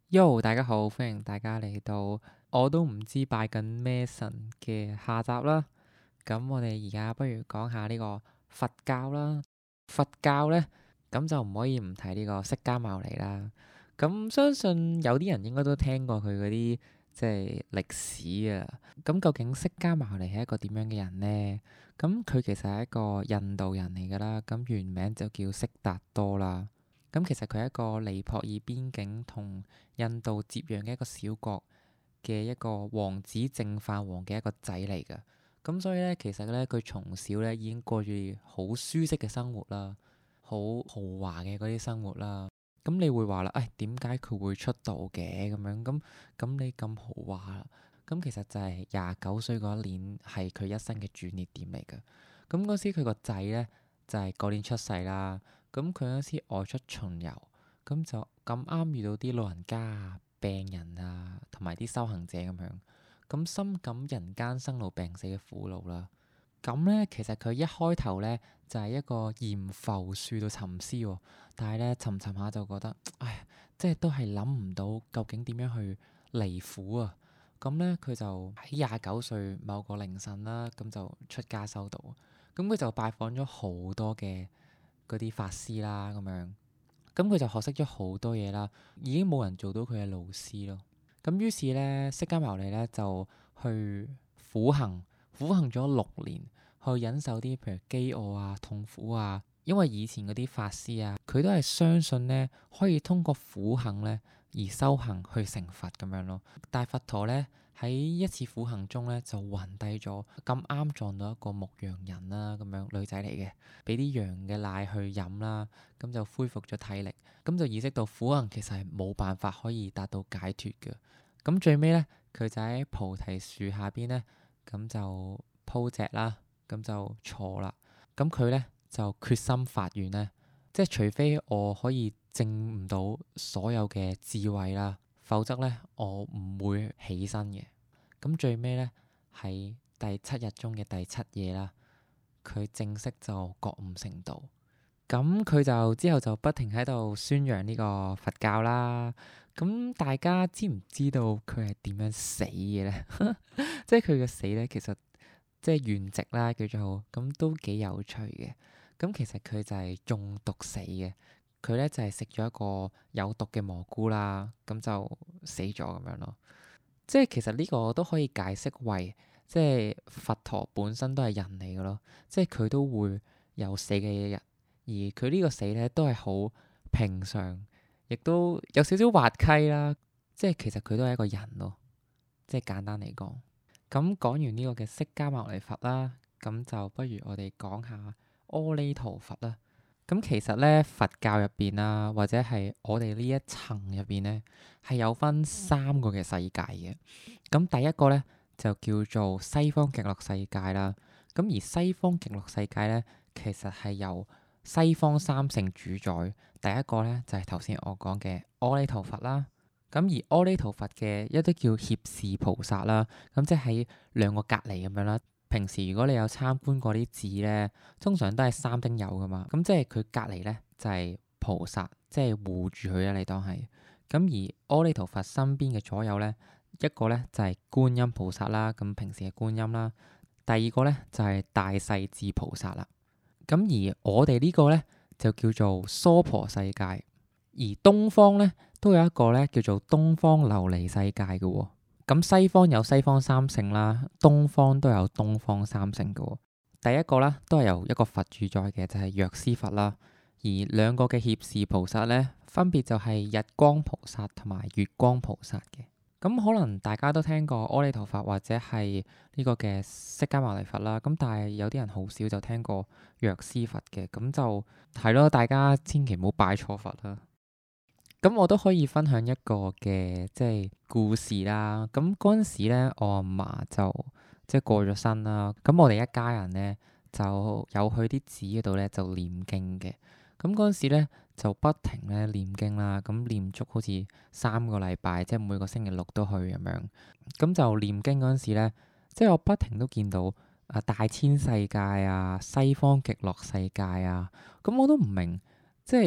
Yo，大家好，歡迎大家嚟到我都唔知拜緊咩神嘅下集啦。咁我哋而家不如講下呢個佛教啦。佛教呢，咁就唔可以唔提呢個釋迦牟尼啦。咁相信有啲人應該都聽過佢嗰啲即係歷史啊。咁究竟釋迦牟尼係一個點樣嘅人呢？咁佢其實係一個印度人嚟㗎啦。咁原名就叫悉達多啦。咁其實佢係一個尼泊爾邊境同印度接壤嘅一個小國嘅一個王子淨飯王嘅一個仔嚟㗎。咁所以咧，其實咧，佢從小咧已經過住好舒適嘅生活啦，好豪華嘅嗰啲生活啦。咁你會話啦，點解佢會出道嘅咁樣？咁你咁豪華啦，咁其實就係29歲嗰一年係佢一生嘅轉捩點嚟㗎。咁嗰時佢個仔咧就係嗰年出世啦。咁佢嗰時外出巡遊，咁就咁啱遇到啲老人家啊、病人啊，同埋啲修行者咁樣，咁深感人間生老病死嘅苦惱啦。咁咧，其實佢一開頭咧就係一個鹽浮樹度沉思喎，但係咧沉沉下就覺得，即係都係諗唔到究竟點樣去離苦啊。咁咧佢就喺29歲某個凌晨啦，咁就出家修道。咁佢就拜訪咗好多嘅嗰啲法師啦，咁樣，咁佢就學識咗好多嘢啦，已經冇人做到佢嘅老師咯。咁於是咧，釋迦牟尼咧就去苦行，苦行咗6年，去忍受啲譬如飢餓啊、痛苦啊。因為以前嗰啲法師啊，佢都係相信咧可以通過苦行咧而修行去成佛咁樣咯。但係佛陀咧喺一次苦行中咧就暈低咗，咁啱撞到一個牧羊人啦，咁樣女仔嚟嘅，俾啲羊嘅奶去飲啦，咁就恢復咗體力，咁就意識到苦行其實係冇辦法可以達到解脫嘅。咁最尾咧，佢就喺菩提樹下邊咧，咁就鋪席啦，咁就坐啦。咁佢咧就決心發願咧，即係除非我可以證唔到所有嘅智慧啦，否則咧我唔會起身嘅。咁最尾咧喺第7日中嘅第7夜啦，佢正式就覺悟成道。咁佢就之後就不停喺度宣揚呢個佛教啦。咁大家知唔知道佢係點樣死嘅咧？即係佢嘅死咧，其實即係圓寂啦，叫做咁都幾有趣嘅。咁其實佢就係中毒死嘅。佢咧就係食咗一個有毒嘅蘑菇啦，咁就死咗咁樣咯。即係其實呢個都可以解釋為，即係佛陀本身都係人嚟嘅咯。即係佢都會有死嘅一日，而佢呢個死咧都係好平常，亦都有少少滑稽啦。即係其實佢都係一個人咯。即係簡單嚟講，咁講完呢個嘅釋迦牟尼佛啦，咁就不如我哋講下阿彌陀佛啦。咁其實咧，佛教入邊啦，或者係我哋呢一層入邊咧，係有分3個嘅世界嘅。咁第一個咧就叫做西方極樂世界啦。咁而西方極樂世界咧，其實係由西方三聖主宰。第一個咧就係頭先我講嘅阿彌陀佛啦。咁而阿彌陀佛嘅一啲叫脅侍菩薩啦，咁即係喺2個隔離咁樣啦。平時如果你有參觀過啲寺咧，通常都係三丁友噶嘛。咁即係佢隔離咧就係菩薩，即係護住佢啊。你當係咁。而阿彌陀佛身邊嘅左右咧，一個咧就係觀音菩薩啦，咁平時係觀音啦。第二個咧就係大勢至菩薩啦。咁而我哋呢個咧就叫做娑婆世界，而東方咧都有一個咧叫做東方琉璃世界嘅喎。咁西方有西方三聖啦，東方都有東方三聖嘅喎。第一個咧都係由一個佛主宰嘅，就係藥師佛啦。而2個嘅脅侍菩薩咧，分別就係日光菩薩同埋月光菩薩嘅。咁可能大家都聽過阿彌陀佛或者係呢個嘅釋迦牟尼佛啦。咁但係有啲人好少就聽過藥師佛嘅，咁就係咯，大家千祈唔好拜錯佛啦。咁我都可以分享一個嘅即係故事啦。咁嗰陣時咧，我阿嫲就即係過咗身啦。咁我哋一家人咧就有去啲寺嗰度咧就念經嘅。咁嗰陣時咧就不停咧念經啦。咁念足好似3個禮拜，即係每個星期6都去咁樣。咁就念經嗰陣時咧，即係我不停都見到大千世界啊、西方極樂世界啊。咁我都唔明，即係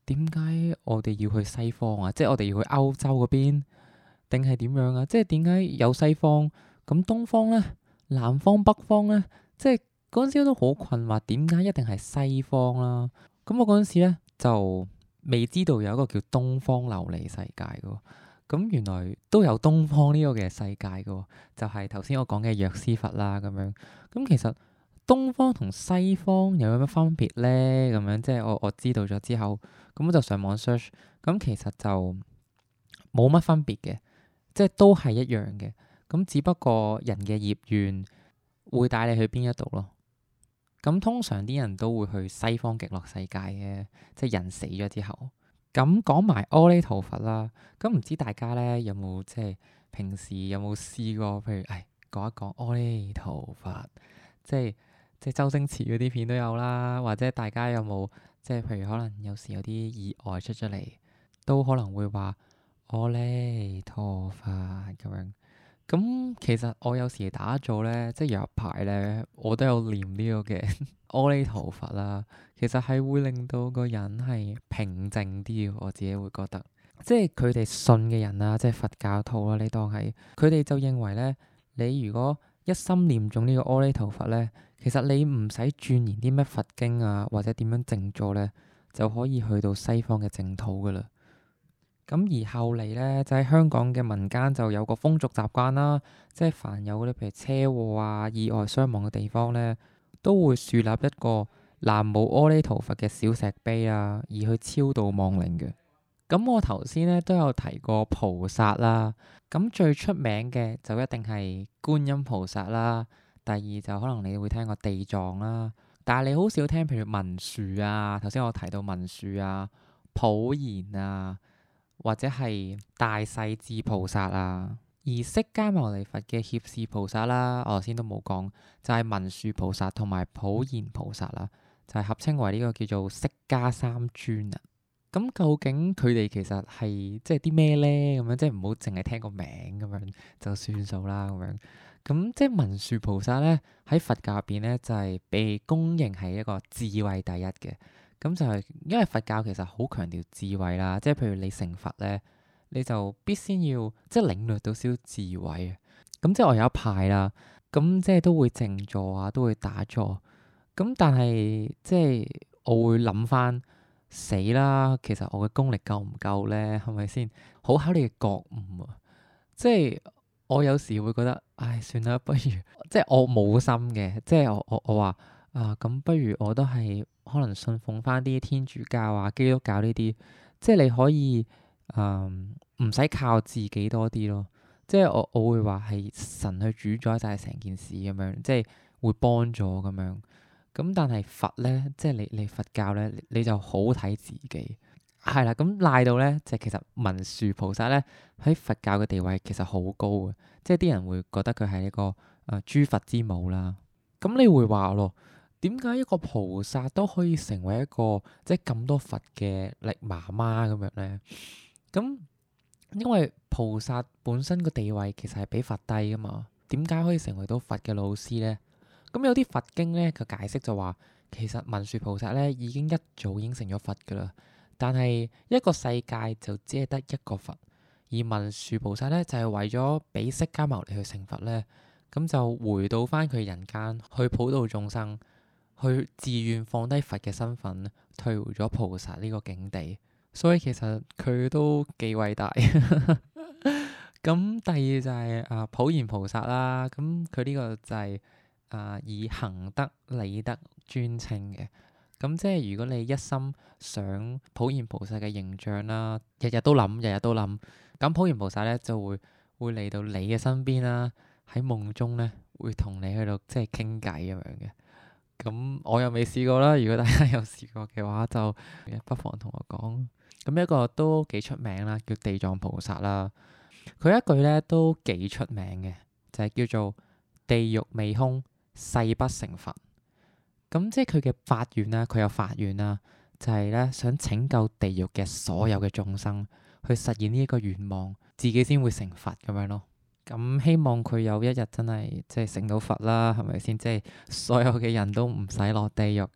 點解我哋要去西方啊？即係我哋要去歐洲嗰邊，定係點樣啊？即係點解有西方咁東方咧、南方、北方咧？即係嗰陣時都好困惑，點解一定係西方啦？咁我嗰陣時咧就未知道有一個叫東方琉璃世界嘅，咁原來都有東方呢個嘅世界嘅，就係頭先我講嘅藥師佛啦咁樣。咁其實東方同西方有乜分別咧？咁樣即係我知道咗之後，咁我就上網 search，咁其實就冇乜分別嘅，即係都係一樣嘅。咁只不過人嘅業緣會帶你去邊一度咯。咁通常啲人都會去西方極樂世界嘅，即係人死咗之後。咁講埋阿彌陀佛啦，咁唔知大家咧有冇即係平時有冇試過？譬如講一講阿彌陀佛，即係周星馳嗰啲片都有啦，或者大家有冇即係譬如可能有時有啲意外出咗嚟，都可能會話阿彌陀佛咁樣。咁其實我有時打坐咧，即係有一排咧，我都有念呢個嘅阿彌陀佛啦。其實係會令到個人係平靜啲嘅，我自己會覺得。即係佢哋信嘅人啦，即係佛教徒啦，你當係佢哋就認為咧，你如果一心念中呢個阿彌陀佛咧，其實你唔使鑽研啲咩佛經啊，或者點樣靜坐咧，就可以去到西方嘅淨土噶啦。咁而後嚟咧，就喺香港嘅民間就有個風俗習慣啦，即係凡有嗰啲譬如車禍啊、意外傷亡嘅地方咧，都會樹立一個南無阿彌陀佛嘅小石碑啊，而去超度亡靈嘅。咁我頭先咧都有提過菩薩啦，咁最出名嘅就一定係觀音菩薩啦，第二就可能你會聽過地藏啦，但係你好少聽譬如文殊啊，頭先我提到文殊啊、普賢啊。或者係大勢至菩薩啊，而釋迦牟尼佛嘅脅侍菩薩啦，我頭先都冇講，就係文殊菩薩同埋普賢菩薩啦，就係合稱為呢個叫做釋迦三尊啊。咁究竟佢哋其實係即係啲咩咧？咁樣即係唔好淨係聽個名咁樣就算數啦咁樣。咁即係文殊菩薩咧，喺佛教入邊咧就係被公認係一個智慧第一嘅。咁就係因為佛教其實好強調智慧啦，即係譬如你成佛咧，你就必先要即係領略到少少智慧啊。咁即係我有一派啦，咁即係都會靜坐啊，都會打坐。咁但係即係我會諗翻死啦，其實我嘅功力夠唔夠咧？係咪先？好考你嘅覺悟啊！即係我有時會覺得，唉，算啦，不如即係我冇心嘅，即係我話啊，咁不如我都係。可能信奉翻啲天主教啊、基督教呢啲，即係你可以唔使靠自己多啲咯。即係我會話係神去主宰晒成件事咁樣，即係會幫助咁樣。咁但係佛咧，即係你佛教咧，你就好睇自己係啦。咁賴到咧，就其實文殊菩薩咧喺佛教嘅地位其實好高嘅，即係啲人會覺得佢係一個諸佛之母啦。咁你會話咯？點解一個菩薩都可以成為一個即係咁多佛嘅媽媽咁樣咧？咁因為菩薩本身個地位其實係比佛低噶嘛，點解可以成為到佛嘅老師咧？咁有啲佛經咧佢解釋就話，其實文殊菩薩咧已經一早已經成咗佛噶啦，但係一個世界就只係得一個佛，而文殊菩薩咧就係為咗俾釋迦牟尼去成佛咧，咁就回到翻佢人間去普度眾生。去自願放低佛嘅身份，退回咗菩薩呢個境地，所以其實佢都幾偉大。咁第二就係普賢菩薩啦，咁佢呢個就係以行德理德尊稱嘅。咁即係如果你一心想普賢菩薩嘅形象啦，日日都諗，日日都諗，咁普賢菩薩咧就會嚟到你嘅身邊啦，喺夢中咧會同你去到即係傾偈咁樣嘅。咁我又未試過啦，如果大家有試過嘅話，就不妨同我講。咁一個都幾出名啦，叫地藏菩薩啦。佢一句咧都幾出名嘅，就係叫做地獄未空，誓不成佛。咁即係佢嘅發願啦，佢有發願啦，就係咧想拯救地獄嘅所有嘅眾生，去實現呢一個願望，自己先會成佛咁樣咯。咁希望佢有一日真係即係成到佛啦，係咪先？即係所有嘅人都唔使落地獄。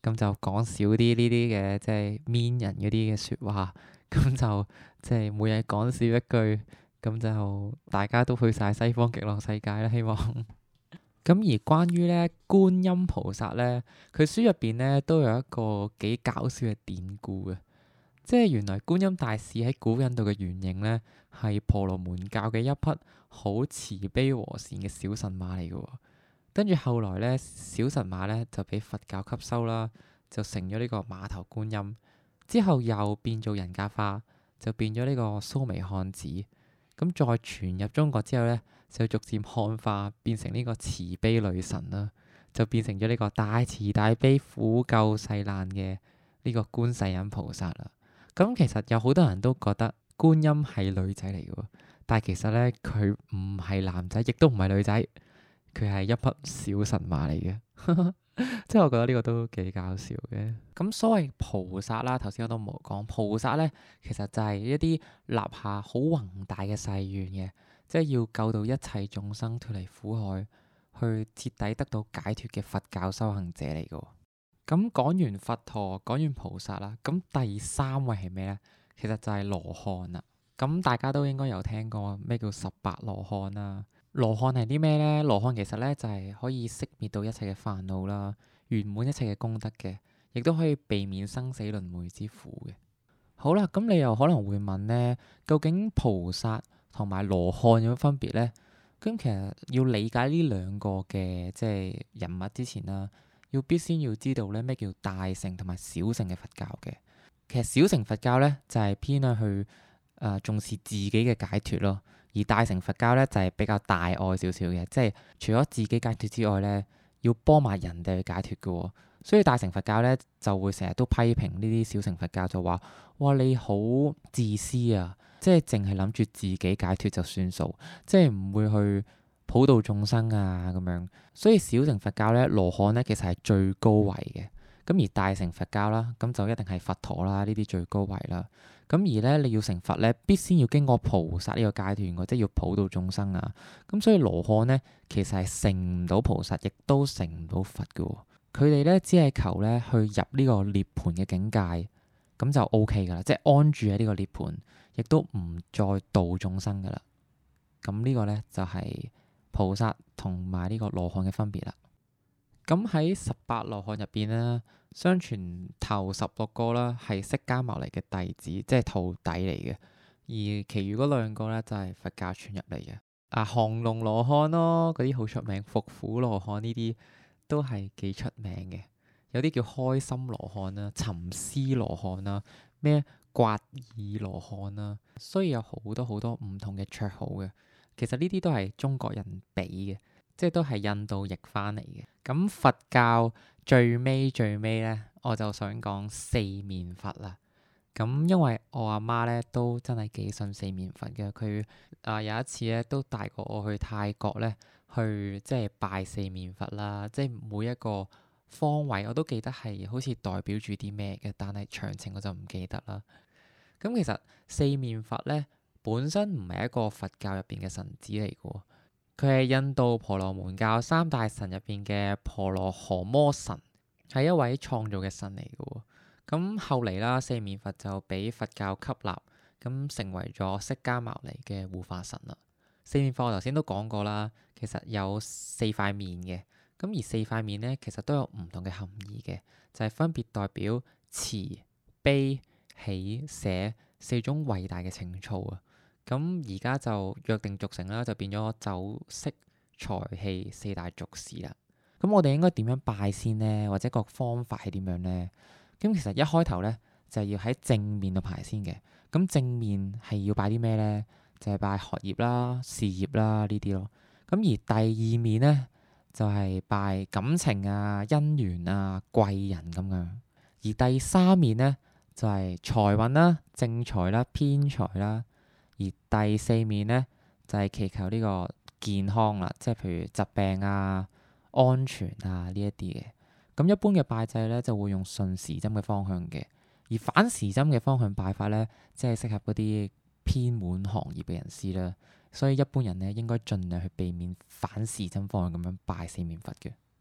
咁就講少啲呢啲嘅即係 mean 人嗰啲嘅説話，咁就即係每日講少一句，咁就大家都去晒西方極樂世界啦，希望。咁而關於咧觀音菩薩咧，佢書入邊咧都有一個幾搞笑嘅典故嘅，即係原來觀音大士喺古印度嘅原型咧係婆羅門教嘅一匹好慈悲和善嘅小神馬嚟嘅喎。跟住後來咧，小神馬咧就俾佛教吸收啦，就成咗呢個馬頭觀音。之後又變做人格化，就變咗呢個蘇眉漢子。咁再傳入中國之後咧，就逐漸漢化，變成呢個慈悲女神啦，就變成咗呢個大慈大悲苦救世難嘅呢個觀世音菩薩啦。咁其實有好多人都覺得觀音係女仔嚟嘅喎，但係其實咧佢唔係男仔，亦都唔係女仔，佢係一匹小神馬嚟嘅。即係我覺得呢個都幾搞笑嘅。咁所謂菩薩啦，頭先我都冇講，菩薩咧其實就係一啲立下好宏大嘅誓願嘅，即係要救到一切眾生脫離苦海，去徹底得到解脫嘅佛教修行者嚟嘅。咁講完佛陀，講完菩薩啦，咁第三位係咩咧？其實就係羅漢啦。咁大家都應該有聽過咩叫十八羅漢啦。羅漢係啲咩咧？羅漢其實咧就係可以熄滅到一切嘅煩惱啦，圓滿一切嘅功德嘅，亦都可以避免生死輪迴之苦嘅。好啦，咁你又可能會問咧，究竟菩薩同埋羅漢有乜分別咧？咁其實要理解呢兩個嘅即係人物之前啦，必先要知道咧咩叫大乘同埋小乘嘅佛教嘅。其實小乘佛教咧就係偏向去重視自己嘅解脫咯。而大乘佛教咧就係比較大愛少少嘅，即係除咗自己解脫之外咧，要幫埋人哋去解脫嘅喎。所以大乘佛教咧就會成日都批評呢啲小乘佛教，就話：哇，你好自私啊！即係淨係諗住自己解脫就算數，即係唔會去普度眾生啊咁樣。所以小乘佛教咧，羅漢咧其實係最高位嘅。咁而大乘佛教啦，咁就一定係佛陀啦，呢啲最高位啦。咁而咧，你要成佛咧，必先要經過菩薩呢個階段嘅，即係要普度眾生啊。咁所以羅漢咧，其實係成唔到菩薩，亦都成唔到佛嘅。佢哋咧只係求咧去入呢個涅槃嘅境界，咁就 OK 噶啦，即係安住喺呢個涅槃，亦都唔再度眾生噶啦。咁呢個咧就係菩薩同埋呢個羅漢嘅分別啦。咁喺十八羅漢入邊咧，相傳頭16個啦係釋迦牟尼嘅弟子，即係徒弟嚟嘅，而其餘嗰2個咧就係佛教傳入嚟嘅。降龍羅漢咯，嗰啲好出名，伏虎羅漢呢啲都係幾出名嘅。有啲叫開心羅漢啦、沉思羅漢啦、咩刮耳羅漢啦，所以有好多好多唔同嘅綽號嘅。其實呢啲都係中國人俾嘅。即係都係印度譯翻嚟嘅。咁佛教最尾咧，我就想講四面佛啦。咁因為我阿媽咧都真係幾信四面佛嘅，佢有一次咧都帶過我去泰國咧，去即係拜四面佛啦。即係每一個方位我都記得係好似代表住啲咩嘅，但係詳情我就唔記得啦。咁其實四面佛咧本身唔係一個佛教入邊嘅神子嚟嘅。佢係印度婆羅門教3大神入邊嘅婆羅河摩神，係一位創造嘅神嚟嘅。咁後嚟啦，四面佛就俾佛教吸納，咁成為咗釋迦牟尼嘅護法神啦。四面佛我頭先都講過啦，其實有4塊面嘅，咁而4塊面咧，其實都有唔同嘅含義嘅，就係分別代表慈悲喜捨4種偉大嘅情操啊。咁而家就約定俗成啦，就變咗酒色財氣4大俗事啦。咁我哋應該點樣拜先呢？或者個方法係點樣呢？咁其實一開頭咧就係要喺正面度排先嘅。咁正面係要拜啲咩咧？就係拜學業啦、事業啦呢啲咯。咁而第二面咧就係拜感情啊、姻緣啊、貴人咁樣。而第3面咧就係財運啦、正財啦、偏財啦。而第4面咧就係祈求呢個健康啦，即係譬如疾病啊、安全啊呢一啲嘅。咁一般嘅拜祭咧就會用順時針嘅方向嘅，而反時針嘅方向拜法咧，即係適合嗰啲偏門行業嘅人士啦。所以一般人咧應該盡量去避免反時針方向咁樣拜四面佛嘅。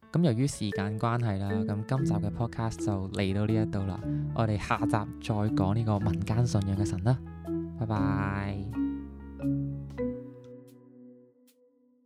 咁由於時間關係啦，咁今集嘅 podcast 就嚟到呢一度啦。我哋下集再講呢個民間信仰嘅神啦。拜拜。